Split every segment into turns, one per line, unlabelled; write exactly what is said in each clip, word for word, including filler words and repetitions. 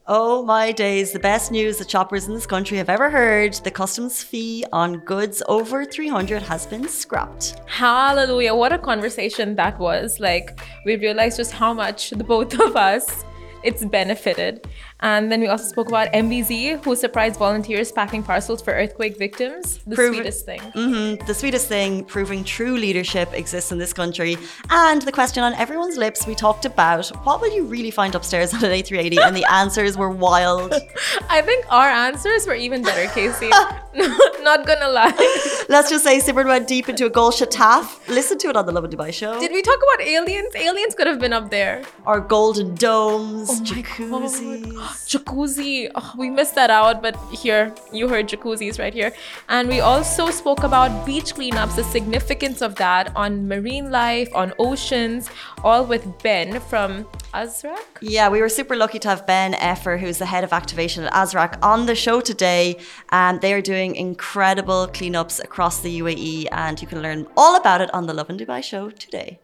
Oh my days, the best news that shoppers in this country have ever heard. The customs fee on goods over three hundred has been scrapped.
Hallelujah. What a conversation that was. Like, we realized just how much the both of us it's benefited. And then we also spoke about M B Z, who surprised volunteers packing parcels for earthquake victims. The
Prove-
sweetest thing.
Mm-hmm, the sweetest thing, proving true leadership exists in this country. And the question on everyone's lips, we talked about, what will you really find upstairs on an A three eighty? And the answers were wild.
I think our answers were even better, Casey. Not gonna lie.
Let's just say Simran went deep into a Gul Shataf. Listen to it on the Love and Dubai show.
Did we talk about aliens? Aliens could have been up there.
Our golden domes,
Oh my
jacuzzis.
God. Jacuzzi. Oh, we missed that out, but here, you heard jacuzzis right here. And we also spoke about beach cleanups, the significance of that on marine life, on oceans, all with Ben from Azraq.
Yeah, we were super lucky to have Ben Effer, who's the head of activation at Azraq, on the show today. And they are doing incredible cleanups across the U A E, and you can learn all about it on the Love and Dubai show today.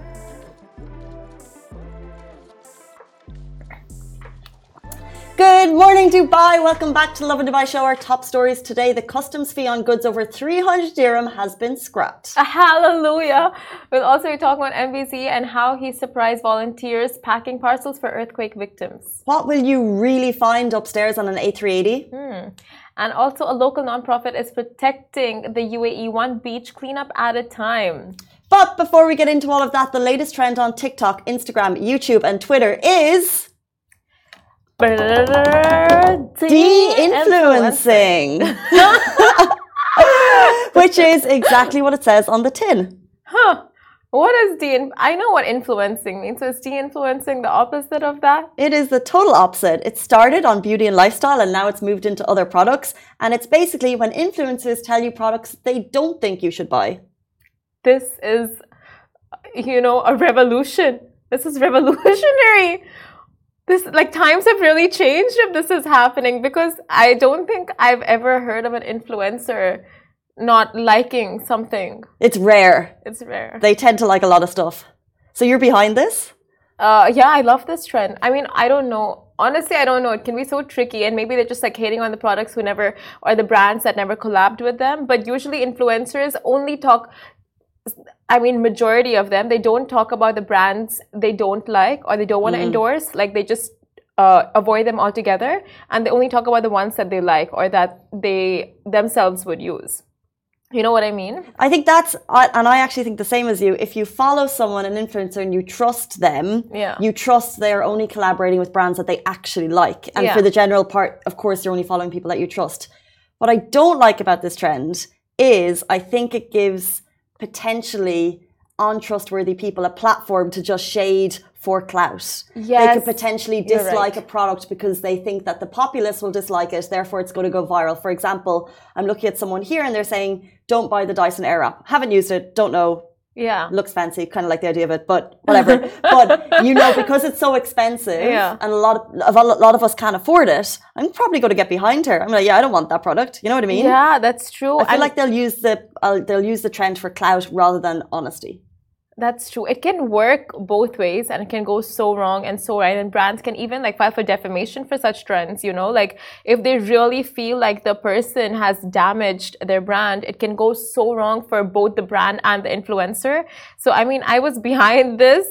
Good morning, Dubai. Welcome back to Love and Dubai show. Our top stories today. The customs fee on goods over three hundred dirham has been scrapped.
Hallelujah. We'll also be talking about M B Z and how he surprised volunteers packing parcels for earthquake victims.
What will you really find upstairs on an A three eighty?
Hmm. And also a local nonprofit is protecting the U A E one beach cleanup at a time.
But before we get into all of that, the latest trend on TikTok, Instagram, YouTube and Twitter is... de-influencing. Which is exactly what it says on the tin.
Huh. What is de- I know what influencing means. So is de-influencing the opposite of that?
It is the total opposite. It started on beauty and lifestyle and now it's moved into other products. And it's basically when influencers tell you products they don't think you should buy.
This is, you know, a revolution. This is revolutionary. This, like, times have really changed if this is happening, because I don't think I've ever heard of an influencer not liking something.
It's rare.
It's rare.
They tend to like a lot of stuff. So you're behind this?
Uh, yeah, I love this trend. I mean, I don't know. Honestly, I don't know. It can be so tricky, and maybe they're just like hating on the products who never, or the brands that never collabed with them. But usually influencers only talk, I mean, majority of them, they don't talk about the brands they don't like or they don't want to mm. endorse. Like, they just uh, avoid them altogether. And they only talk about the ones that they like or that they themselves would use. You know what I mean?
I think that's, and I actually think the same as you. If you follow someone, an influencer, and you trust them,
yeah.
you trust they're only collaborating with brands that they actually like. And
yeah.
for the general part, of course, you're only following people that you trust. What I don't like about this trend is I think it gives potentially untrustworthy people a platform to just shade for clout.
Yes,
they could potentially dislike
right.
a product because they think that the populace will dislike it, therefore it's going to go viral. For example, I'm looking at someone here and they're saying, don't buy the Dyson Airwrap. Haven't used it, don't know.
Yeah.
Looks fancy, kind of like the idea of it, but whatever. But, you know, because it's so expensive
yeah.
and a lot of, a lot of us can't afford it, I'm probably going to get behind her. I'm like, yeah, I don't want that product. You know what I mean?
Yeah, that's true.
I feel
and
like they'll use the uh, they'll use the trend for clout rather than honesty.
That's true. It can work both ways and it can go so wrong and so right. And brands can even like file for defamation for such trends, you know, like if they really feel like the person has damaged their brand, it can go so wrong for both the brand and the influencer. So, I mean, I was behind this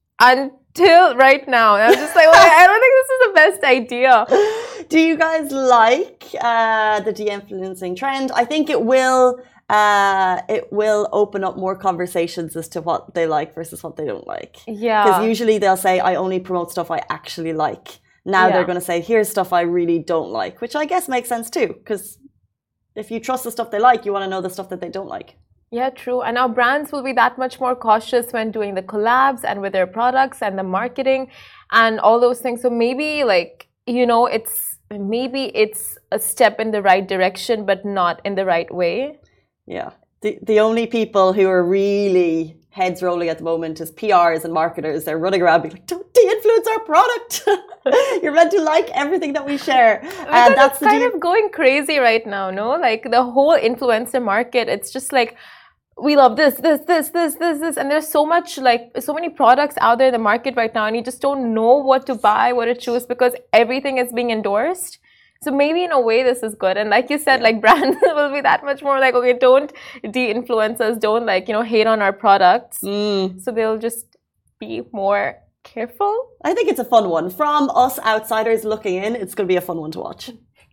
until right now. And I was just like, well, I don't think this is the best idea.
Do you guys like uh, the de-influencing trend? I think it will... Uh, it will open up more conversations as to what they like versus what they don't like.
Yeah.
Because usually they'll say, I only promote stuff I actually like. Now
yeah.
they're going to say, here's stuff I really don't like, which I guess makes sense too. Because if you trust the stuff they like, you want to know the stuff that they don't like.
Yeah, true. And now brands will be that much more cautious when doing the collabs and with their products and the marketing and all those things. So maybe like, you know, it's maybe it's a step in the right direction, but not in the right way.
Yeah. The the only people who are really heads rolling at the moment is P Rs and marketers. They're running around being like, don't de-influence our product. You're meant to like everything that we share.
And that's kind of going crazy right now, no? Like the whole influencer market, it's just like, we love this, this, this, this, this, this, and there's so much, like, so many products out there in the market right now, and you just don't know what to buy, what to choose, because everything is being endorsed. So maybe in a way this is good. And like you said, yeah. like brands will be that much more like, okay, don't de-influence us, don't like, you know, hate on our products.
Mm.
So they'll just be more careful.
I think it's a fun one. From us outsiders looking in, it's going to be a fun one to watch.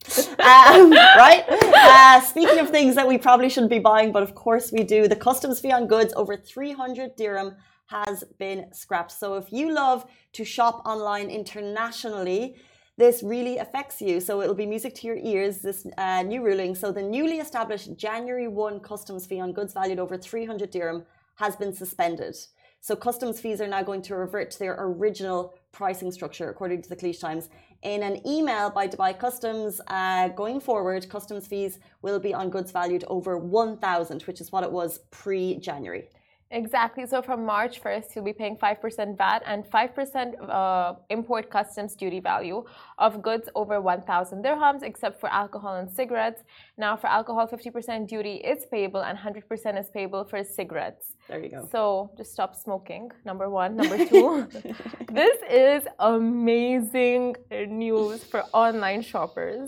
um, right? Uh, speaking of things that we probably shouldn't be buying, but of course we do, the customs fee on goods over three hundred dirham has been scrapped. So if you love to shop online internationally, this really affects you. So it'll be music to your ears, this uh, new ruling. So the newly established January first customs fee on goods valued over three hundred dirham has been suspended. So customs fees are now going to revert to their original pricing structure, according to the Cleach Times. In an email by Dubai Customs, uh, going forward, customs fees will be on goods valued over one thousand, which is what it was pre-January.
Exactly. So from March first, you'll be paying five percent V A T and five percent uh, import customs duty value of goods over one thousand dirhams, except for alcohol and cigarettes. Now, for alcohol, fifty percent duty is payable and one hundred percent is payable for cigarettes.
There you go.
So just stop smoking, number one. Number two, this is amazing news for online shoppers.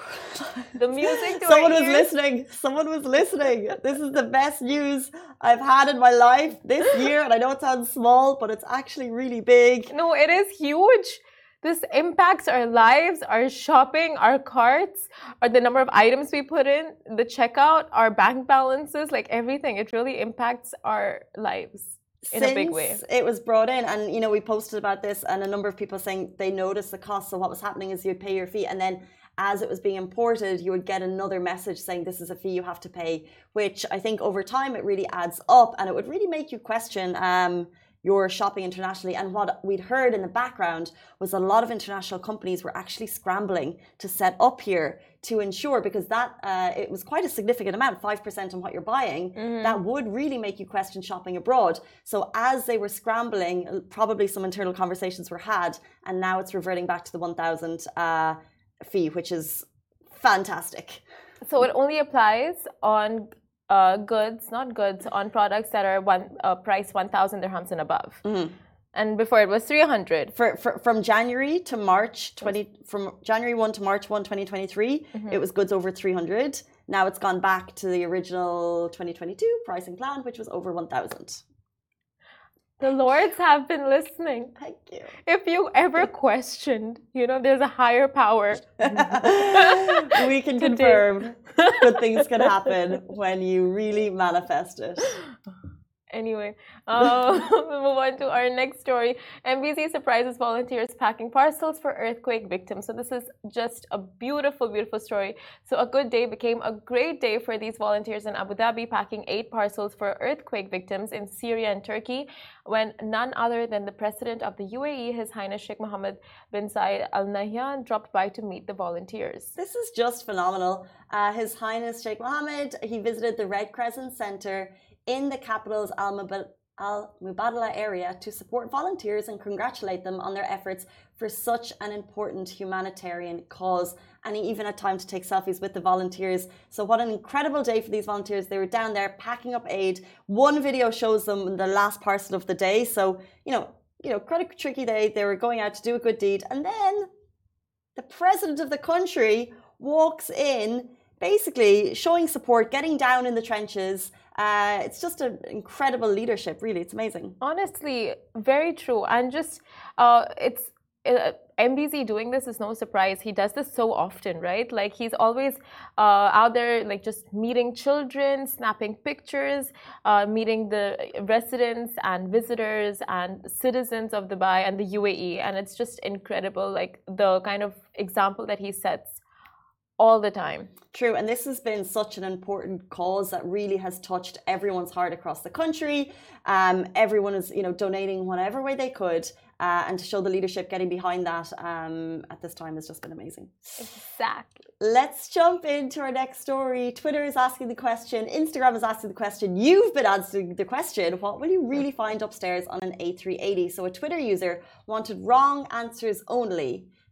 The music to
Someone was
ears.
listening. Someone was listening. This is the best news I've had in my life this year. And I know it sounds small, but it's actually really big.
No, it is huge. This impacts our lives, our shopping, our carts, or the number of items we put in, the checkout, our bank balances, like everything. It really impacts our lives in
Since
a big way.
It was brought in, and you know, we posted about this, and a number of people saying they noticed the cost. So what was happening is you'd pay your fee, and then as it was being imported, you would get another message saying this is a fee you have to pay, which I think over time it really adds up, and it would really make you question um, your shopping internationally. And what we'd heard in the background was a lot of international companies were actually scrambling to set up here to ensure, because that uh, it was quite a significant amount, five percent on what you're buying, mm-hmm. that would really make you question shopping abroad. So as they were scrambling, probably some internal conversations were had, and now it's reverting back to the one thousand uh, fee, which is fantastic.
So it only applies on uh, goods, not goods, on products that are one uh, price one thousand dirhams and above. Mm-hmm. And before it was three hundred.
For, for from January to March twenty, from January first to March first, twenty twenty-three, mm-hmm. it was goods over three hundred. Now it's gone back to the original twenty twenty-two pricing plan, which was over one thousand.
The Lords have been listening.
Thank you.
If you ever questioned, you know, there's a higher power.
We can confirm good things can happen when you really manifest it.
Anyway, uh, we'll move on to our next story. M B C surprises volunteers packing parcels for earthquake victims. So this is just a beautiful, beautiful story. So a good day became a great day for these volunteers in Abu Dhabi, packing eight parcels for earthquake victims in Syria and Turkey, when none other than the President of the U A E, His Highness Sheikh Mohammed bin Zayed Al Nahyan, dropped by to meet the volunteers.
This is just phenomenal. Uh, His Highness Sheikh Mohammed, he visited the Red Crescent Center in the capital's Al Mubadala area to support volunteers and congratulate them on their efforts for such an important humanitarian cause. And he even had time to take selfies with the volunteers. So what an incredible day for these volunteers. They were down there packing up aid. One video shows them the last parcel of the day. So, you know, you know, quite a tricky day. They were going out to do a good deed. And then the president of the country walks in, basically showing support, getting down in the trenches. Uh, it's just an incredible leadership, really. It's amazing.
Honestly, very true. And just, uh, it's, uh, M B Z doing this is no surprise. He does this so often, right? Like he's always uh, out there, like just meeting children, snapping pictures, uh, meeting the residents and visitors and citizens of Dubai and the U A E. And it's just incredible, like the kind of example that he sets all the time.
True, and this has been such an important cause that really has touched everyone's heart across the country. Um, everyone is, you know, donating whatever way they could, uh, and to show the leadership getting behind that um, at this time has just been amazing.
Exactly.
Let's jump into our next story. Twitter is asking the question, Instagram is asking the question, you've been answering the question, what will you really find upstairs on an A three eighty? So a Twitter user wanted wrong answers only.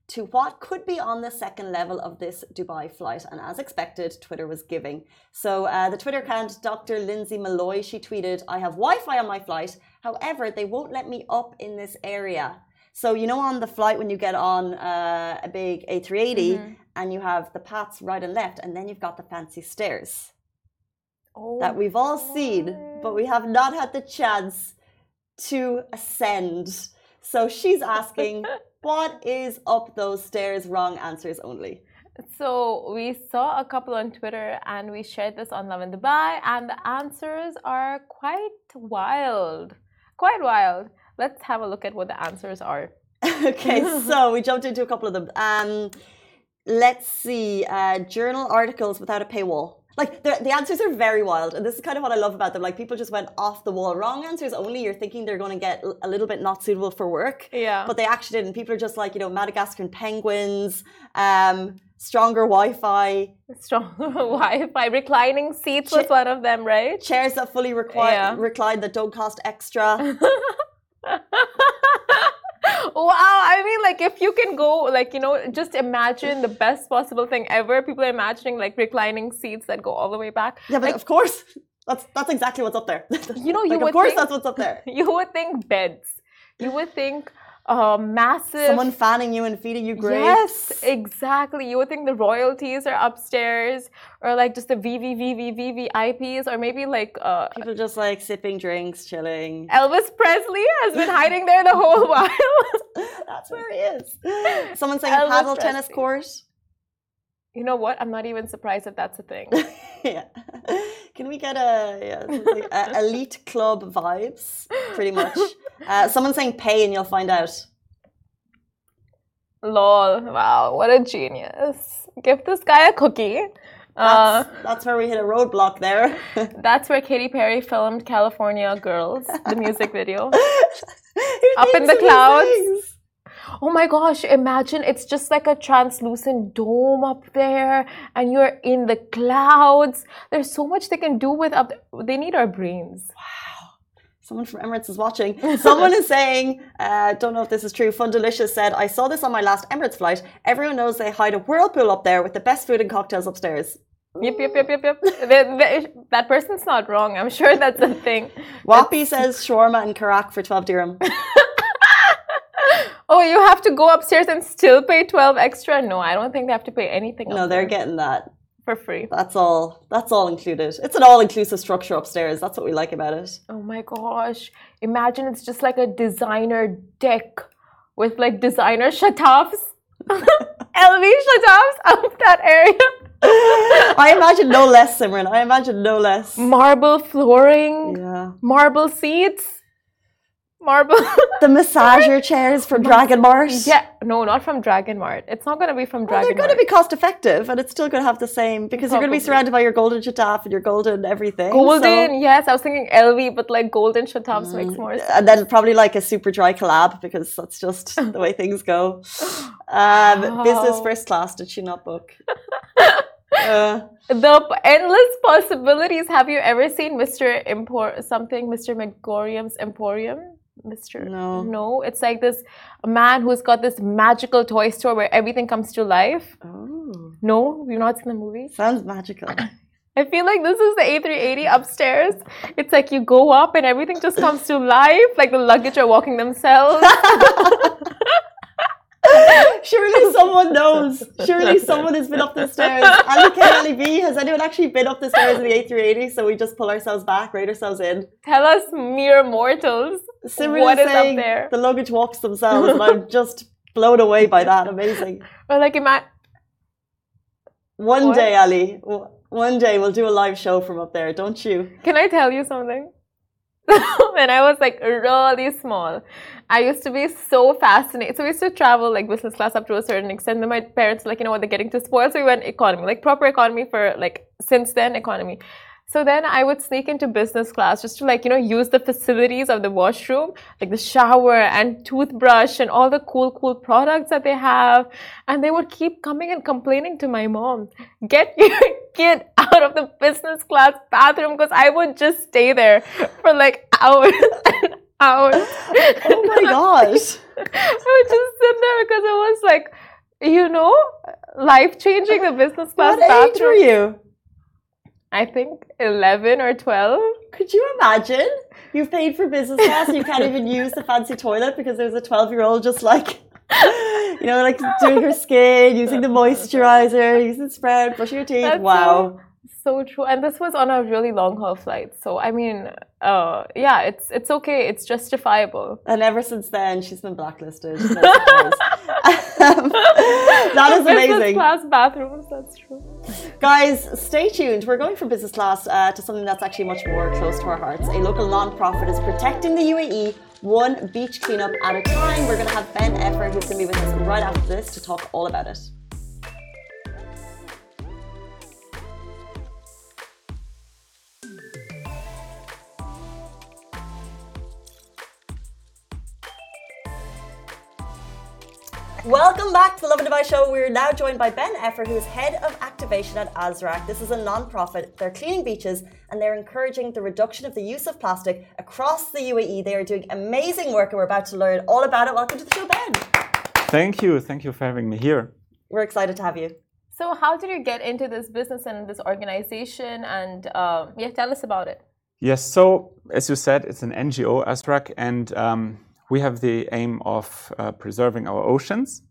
to what could be on the second level of this Dubai flight. And as expected, Twitter was giving. So uh, the Twitter account, Doctor Lindsay Malloy, she tweeted, I have Wi-Fi on my flight. However, they won't let me up in this area. So, you know, on the flight when you get on uh, a big A three eighty mm-hmm. and you have the paths right and left, and then you've got the fancy stairs oh, that we've all seen, but we have not had the chance to ascend. So she's asking, what is up those stairs? Wrong answers only.
So we saw a couple on Twitter and we shared this on Love in Dubai, and the answers are quite wild. Quite wild. Let's have a look at what the answers are.
Okay, so we jumped into a couple of them. Um, let's see. Uh, journal articles without a paywall. Like, the answers are very wild. And this is kind of what I love about them. Like, people just went off the wall. Wrong answers only. You're thinking they're going to get a little bit not suitable for work.
Yeah.
But they actually didn't. People are just like, you know, Madagascan penguins, um, stronger Wi-Fi.
Stronger Wi-Fi. Reclining seats was one of them, right?
Chairs that fully require, yeah. recline that don't cost extra.
Wow, I mean, like, if you can go, like, you know, just imagine the best possible thing ever. People are imagining, like, reclining seats that go all the way back.
Yeah, but
like,
of course, that's that's exactly what's up there.
You know, you
like,
would
of course
think,
that's what's up there.
You would think beds. You would think uh, massive...
Someone fanning you and feeding you grapes.
Yes, exactly. You would think the royalties are upstairs, or like just the V V V V V V I Ps, or maybe like... Uh,
people just like sipping drinks, chilling.
Elvis Presley has been hiding there the whole while.
That's where he is. Someone saying
Elvis
a paddle
Presley.
tennis court.
You know what? I'm not even surprised if that's a thing.
Yeah. Can we get a, yeah, like a elite club vibes? Pretty much. Uh, someone saying pay and you'll find out.
Lol. Wow. What a genius. Give this guy a cookie.
That's, uh, that's where we hit a roadblock there.
That's where Katy Perry filmed California Girls, the music video. Up in the clouds. Oh my gosh, imagine it's just like a translucent dome up there and you're in the clouds. There's so much they can do with up there. They need our brains.
Wow. Someone from Emirates is watching. Someone is saying, uh, don't know if this is true, Fundalicious said, I saw this on my last Emirates flight. Everyone knows they hide a whirlpool up there with the best food and cocktails upstairs.
Yep, yep, yep, yep, yep. they, they, that person's not wrong. I'm sure that's a thing.
Wappy says shawarma and karak for twelve dirham.
Oh, you have to go upstairs and still pay twelve extra? No, I don't think they have to pay anything.
No, they're getting that.
For free.
That's all. That's all included. It's an all-inclusive structure upstairs. That's what we like about it.
Oh my gosh. Imagine it's just like a designer deck with like designer shatafs. L V shatafs up that area.
I imagine no less, Simran. I imagine no less.
Marble flooring.
Yeah.
Marble seats. Marble.
The massager chairs from Dragon Mart.
Yeah, no, not from Dragon Mart. It's not going to be from Dragon Mart.
Well, they're going to be cost effective, and it's still going to have the same because Probably. You're going to be surrounded by your golden shataf and your golden everything.
Golden,
so.
Yes. I was thinking L V, but like golden shatafs mm. makes more sense.
And then probably like a super dry collab because that's just the way things go. Um, oh. Business first class. Did she not book? Uh,
the endless possibilities. Have you ever seen Mister Impor something? Mister Megorium's Emporium. Mister
No.
No, it's like this man who's got this magical toy store where everything comes to life.
Oh.
No, you've not seen the movie?
Sounds magical.
I feel like this is the A three eighty upstairs. It's like you go up and everything just comes to life. Like the luggage are walking themselves.
Surely someone knows. Surely someone has been up the stairs. Ali K, Ali B, has anyone actually been up the stairs in the A three eighty? So we just pull ourselves back, rate ourselves in.
Tell us, mere mortals,
Simran
what
is,
is
saying
up there?
The luggage walks themselves, and I'm just blown away by that. Amazing.
Or like, ima-
One
what?
day, Ali, one day we'll do a live show from up there, don't you?
Can I tell you something? When I was like really small, I used to be so fascinated. So we used to travel like business class up to a certain extent. Then my parents were like, you know what, they're getting too spoiled. So we went economy, like proper economy for like since then economy. So then I would sneak into business class just to like, you know, use the facilities of the washroom, like the shower and toothbrush and all the cool, cool products that they have. And they would keep coming and complaining to my mom, get your kid out of the business class bathroom, because I would just stay there for like hours and hours.
Oh my gosh.
I would just sit there because it was like you know, life-changing, the business class
what
bathroom.
What age were you?
I think eleven or twelve.
Could you imagine? You've paid for business class and you can't even use the fancy toilet because there's a twelve-year-old just like, you know, like doing her skin, using the moisturizer, using the spread, brushing your teeth.
That's
wow.
So, so true. And this was on a really long-haul flight. So, I mean, uh, yeah, it's it's okay. It's justifiable.
And ever since then, she's been blacklisted. No um, that is amazing.
Business class bathrooms, that's true.
Guys, stay tuned. We're going from business class uh, to something that's actually much more close to our hearts. A local non-profit is protecting the U A E one beach cleanup at a time. We're going to have Ben Effer, who's going to be with us right after this to talk all about it. Welcome back to the Lovin Dubai show. We're now joined by Ben Effer, who is head of activation at Azraq. This is a non-profit. They're cleaning beaches and they're encouraging the reduction of the use of plastic across the U A E. They are doing amazing work and we're about to learn all about it. Welcome to the show, Ben.
Thank you. Thank you for having me here.
We're excited to have you.
So how did you get into this business and this organization? And um, yeah, tell us about it.
Yes. So as you said, it's an N G O, Azraq, and um, we have the aim of uh, preserving our oceans.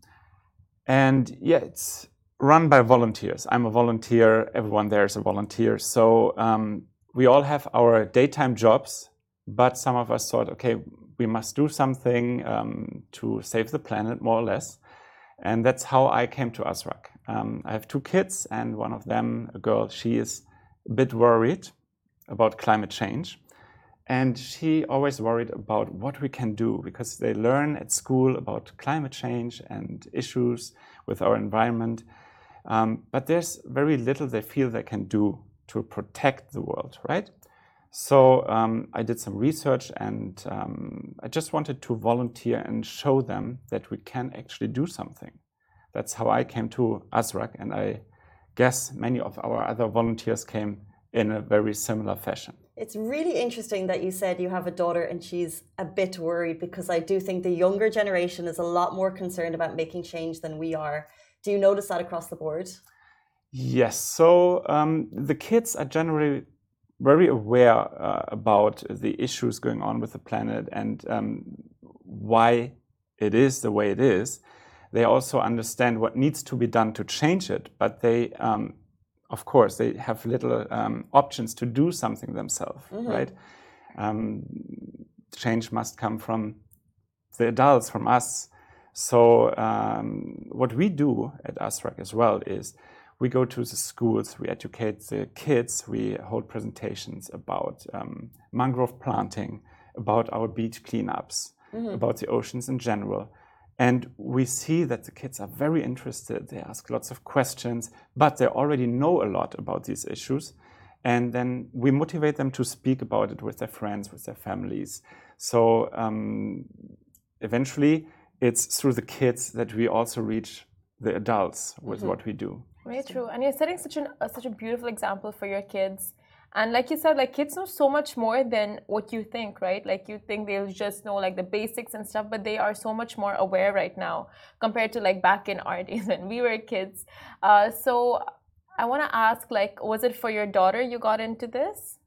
And yeah, it's run by volunteers. I'm a volunteer. Everyone there is a volunteer. So um, we all have our daytime jobs, but some of us thought, okay, we must do something um, to save the planet, more or less. And that's how I came to Azraq. Um, I have two kids, and one of them, a girl, she is a bit worried about climate change. And she always worried about what we can do, because they learn at school about climate change and issues with our environment. Um, but there's very little they feel they can do to protect the world, right? So um, I did some research, and um, I just wanted to volunteer and show them that we can actually do something. That's how I came to Azraq, and I guess many of our other volunteers came in a very similar fashion.
It's really interesting that you said you have a daughter and she's a bit worried, because I do think the younger generation is a lot more concerned about making change than we are. Do you notice that across the board?
Yes. So um, the kids are generally very aware uh, about the issues going on with the planet and um, why it is the way it is. They also understand what needs to be done to change it, but they um, of course, they have little um, options to do something themselves, mm-hmm. right? Um, change must come from the adults, from us. So um, what we do at Azraq as well is we go to the schools, we educate the kids, we hold presentations about um, mangrove planting, about our beach cleanups, mm-hmm. about the oceans in general. And we see that the kids are very interested. They ask lots of questions, but they already know a lot about these issues. And then we motivate them to speak about it with their friends, with their families. So um, eventually, it's through the kids that we also reach the adults with mm-hmm. what we do.
Very true. And you're setting such, an, uh, such a beautiful example for your kids. And like you said, like kids know so much more than what you think, right? Like you think they'll just know like the basics and stuff, but they are so much more aware right now compared to like back in our days when we were kids. Uh, so I want to ask, like, was it for your daughter you got into this?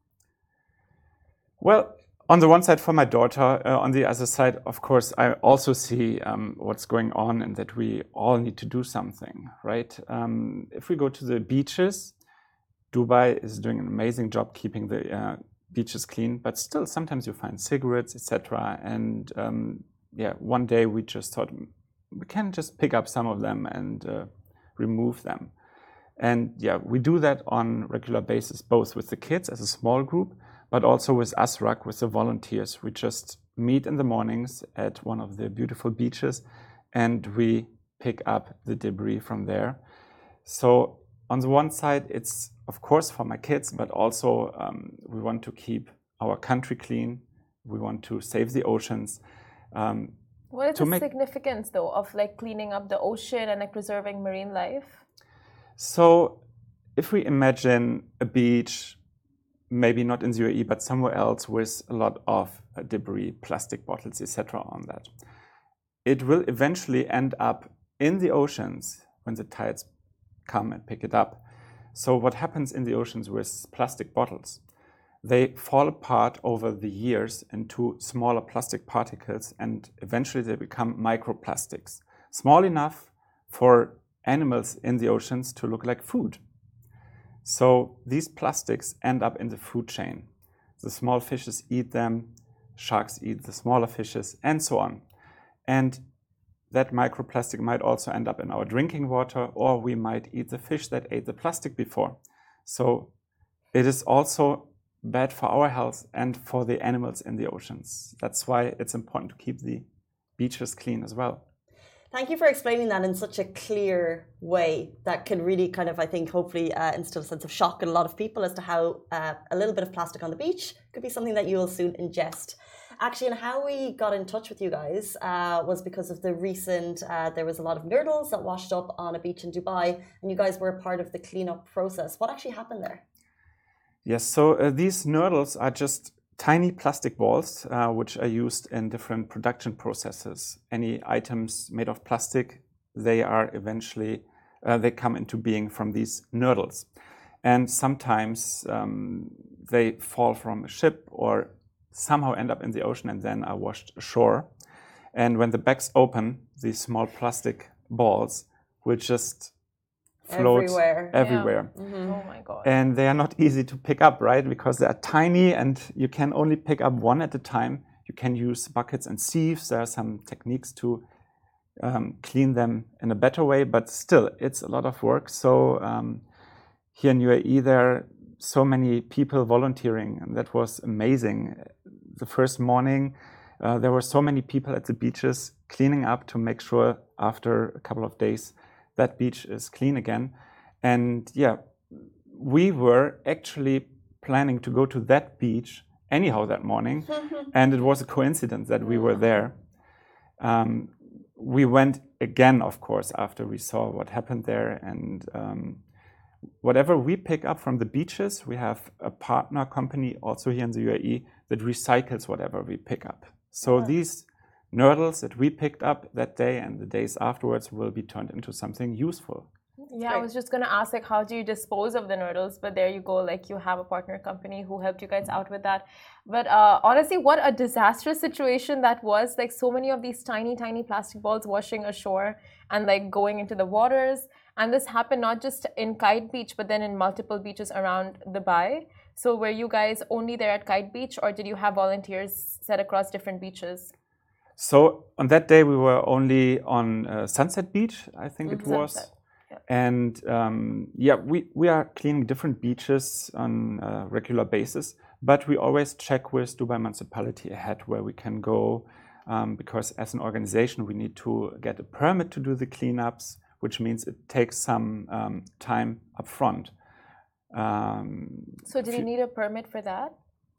Well, on the one side for my daughter, uh, on the other side, of course, I also see um, what's going on and that we all need to do something, right? Um, if we go to the beaches, Dubai is doing an amazing job keeping the uh, beaches clean, but still sometimes you find cigarettes, et cetera. And um, yeah, one day we just thought we can just pick up some of them and uh, remove them. And yeah, we do that on a regular basis, both with the kids as a small group, but also with Azraq, with the volunteers. We just meet in the mornings at one of the beautiful beaches and we pick up the debris from there. So on the one side, it's of course for my kids, but also um, we want to keep our country clean. We want to save the oceans. Um,
what is the make... significance though of like cleaning up the ocean and like preserving marine life?
So if we imagine a beach, maybe not in the U A E, but somewhere else with a lot of uh, debris, plastic bottles, et cetera on that, it will eventually end up in the oceans when the tides come and pick it up. So what happens in the oceans with plastic bottles? They fall apart over the years into smaller plastic particles, and eventually they become microplastics, small enough for animals in the oceans to look like food. So these plastics end up in the food chain. The small fishes eat them, sharks eat the smaller fishes, and so on. And that microplastic might also end up in our drinking water, or we might eat the fish that ate the plastic before. So it is also bad for our health and for the animals in the oceans. That's why it's important to keep the beaches clean as well.
Thank you for explaining that in such a clear way that can really kind of, I think, hopefully uh, instill a sense of shock in a lot of people as to how uh, a little bit of plastic on the beach could be something that you will soon ingest. Actually, and how we got in touch with you guys uh, was because of the recent, uh, there was a lot of nurdles that washed up on a beach in Dubai, and you guys were a part of the cleanup process. What actually happened there?
Yes, so uh, these nurdles are just tiny plastic balls uh, which are used in different production processes. Any items made of plastic, they are eventually, uh, they come into being from these nurdles. And sometimes um, they fall from a ship or somehow end up in the ocean and then are washed ashore. And when the bags open, these small plastic balls will just float
everywhere.
everywhere.
Yeah. Mm-hmm. Oh my God.
And they are not easy to pick up, right? Because they are tiny and you can only pick up one at a time. You can use buckets and sieves. There are some techniques to um, clean them in a better way, but still, it's a lot of work. So um, here in U A E, there are so many people volunteering, and that was amazing. The first morning, uh, there were so many people at the beaches cleaning up to make sure after a couple of days that beach is clean again. And yeah, we were actually planning to go to that beach anyhow that morning. And it was a coincidence that we were there. Um, we went again, of course, after we saw what happened there. And um, whatever we pick up from the beaches, we have a partner company also here in the U A E that recycles whatever we pick up. So
Yeah.
these nurdles that we picked up that day and the days afterwards will be turned into something useful.
Yeah, I was just going to ask, like, how do you dispose of the nurdles? But there you go, like, you have a partner company who helped you guys out with that. But uh, honestly, what a disastrous situation that was. Like, so many of these tiny, tiny plastic balls washing ashore and, like, going into the waters. And this happened not just in Kite Beach, but then in multiple beaches around Dubai. So were you guys only there at Kite Beach, or did you have volunteers set across different beaches?
So on that day, we were only on uh, Sunset Beach, I think it was.
Sunset. Yeah.
And um, yeah, we, we are cleaning different beaches on a regular basis, but we always check with Dubai Municipality ahead where we can go, um, because as an organization, we need to get a permit to do the cleanups, which means it takes some um, time up front. Um,
So did you need a permit for that?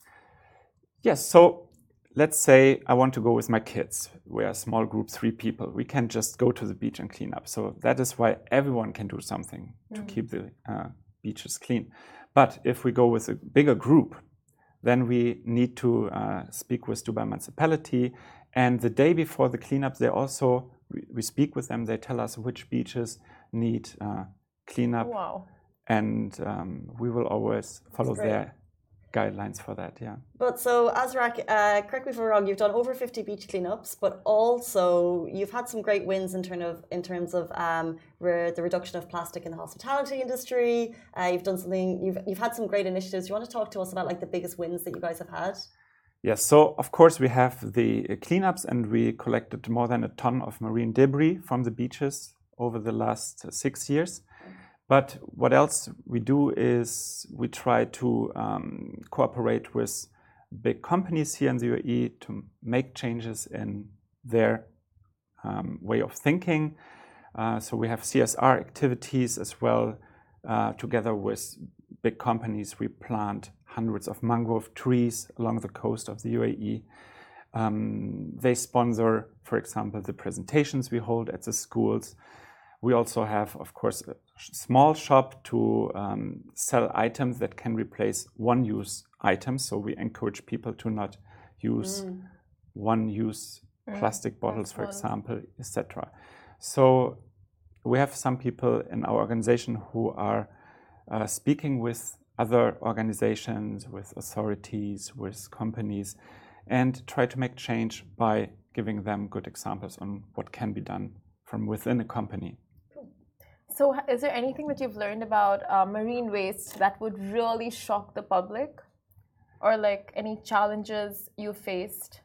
yes, so let's say I want to go with my kids. We are a small group, three people. We can just go to the beach and clean up. So that is why everyone can do something to
Mm.
keep the uh, beaches clean. But if we go with a bigger group, then we need to uh, speak with Dubai Municipality. And the day before the cleanup, they also, we, we speak with them. They tell us which beaches need uh, cleanup.
Wow.
And um, we will always follow
great.
their guidelines for that, yeah.
But so, Azrak, uh, correct me if I'm wrong, you've done over fifty beach cleanups, but also you've had some great wins in, term of, in terms of um, re the reduction of plastic in the hospitality industry. Uh, you've done something, you've, you've had some great initiatives. Do you want to talk to us about like the biggest wins that you guys have had?
Yes, so of course we have the cleanups, and we collected more than a ton of marine debris from the beaches over the last six years. But what else we do is we try to um, cooperate with big companies here in the U A E to make changes in their um, way of thinking. Uh, so we have C S R activities as well. Uh, together with big companies, we plant hundreds of mangrove trees along the coast of the U A E. Um, they sponsor, for example, the presentations we hold at the schools. We also have, of course, a small shop to um, sell items that can replace one-use items. So we encourage people to not use
Mm.
one-use
Mm,
plastic bottles,
that's
for
one.
example, et cetera. So we have some people in our organization who are uh, speaking with other organizations, with authorities, with companies, and try to make change by giving them good examples on what can be done from within a company.
So is there anything that you've learned about uh, marine waste that would really shock the public? Or like any challenges you faced?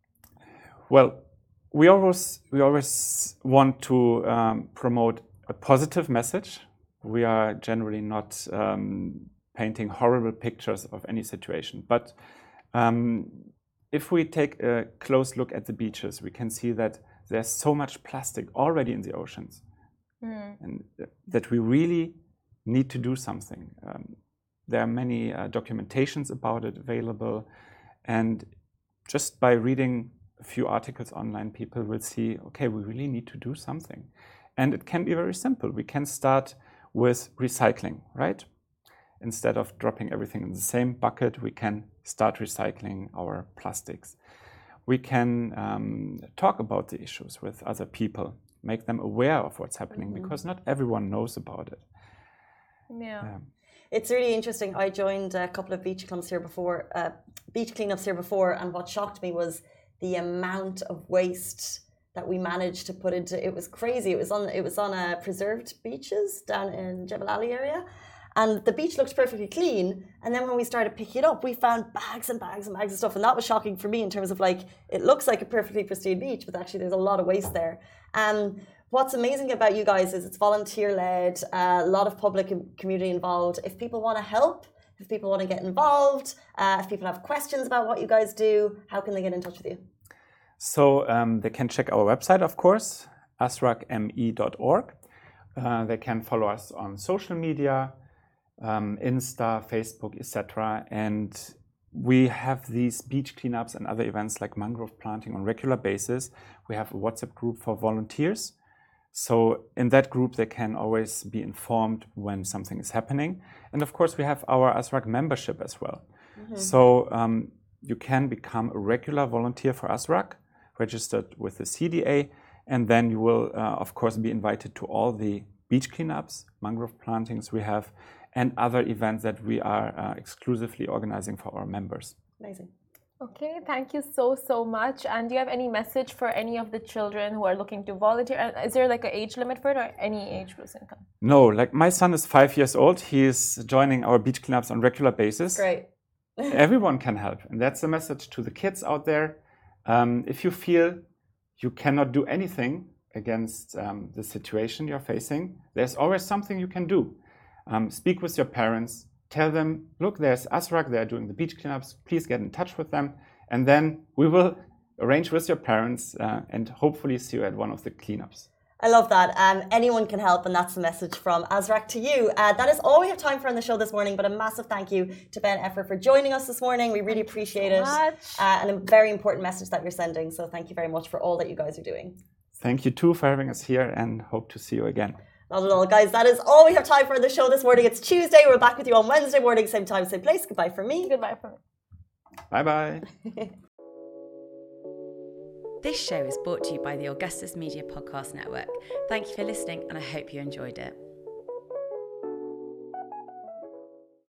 Well, we always, we always want to um, promote a positive message. We are generally not um, painting horrible pictures of any situation. But um, if we take a close look at the beaches, we can see that there's so much plastic already in the oceans. Mm. And that we really need to do something. Um, there are many uh, documentations about it available, and just by reading a few articles online, people will see, okay, we really need to do something. And it can be very simple. We can start with recycling, right? Instead of dropping everything in the same bucket, we can start recycling our plastics. We can um, talk about the issues with other people, make them aware of what's happening, mm-hmm. because not everyone knows about it.
Yeah.
yeah.
It's really interesting. I joined a couple of beach clubs here before, uh, beach cleanups here before, and what shocked me was the amount of waste that we managed to put into. It was crazy. It was on. It was on uh, preserved beaches down in Jebel Ali area, and the beach looked perfectly clean. And then when we started picking it up, we found bags and bags and bags of stuff, and that was shocking for me in terms of like it looks like a perfectly pristine beach, but actually there's a lot of waste there. Um, What's amazing about you guys is it's volunteer-led, uh, a lot of public and community involved. If people want to help, if people want to get involved, uh, if people have questions about what you guys do, how can they get in touch with you?
So um, they can check our website, of course, asrak m e dot org. Uh, they can follow us on social media, um, Insta, Facebook, et cetera. And we have these beach cleanups and other events like mangrove planting on a regular basis. We have a WhatsApp group for volunteers. So in that group, they can always be informed when something is happening. And of course, we have our ASRAC membership as well. Mm-hmm. So um, you can become a regular volunteer for ASRAC, registered with the C D A, and then you will, uh, of course, be invited to all the beach cleanups, mangrove plantings we have, and other events that we are uh, exclusively organizing for our members.
Amazing.
Okay, thank you so, so much. And do you have any message for any of the children who are looking to volunteer? Is there like an age limit for it, or any age person can come?
No, like my son is five years old. He is joining our beach cleanups on a regular basis.
Great.
Everyone can help. And that's the message to the kids out there. Um, if you feel you cannot do anything against um, the situation you're facing, there's always something you can do. Um, speak with your parents. Tell them, look, there's ASRAC, they're doing the beach cleanups, please get in touch with them. And then we will arrange with your parents uh, and hopefully see you at one of the cleanups.
I love that. Um, anyone can help, and that's the message from ASRAC to you. Uh, that is all we have time for on the show this morning, but a massive thank you to Ben Effer for joining us this morning. We really appreciate it. Uh, and a very important message that you're sending. So thank you very much for all that you guys are doing.
Thank you too for having us here, and hope to see you again.
Not at all, guys. That is all we have time for on the show this morning. It's Tuesday. We're back with you on Wednesday morning, same time, same place. Goodbye from me.
Goodbye from me.
Bye-bye.
This show is brought to you by the Augustus Media Podcast Network. Thank you for listening, and I hope you enjoyed it.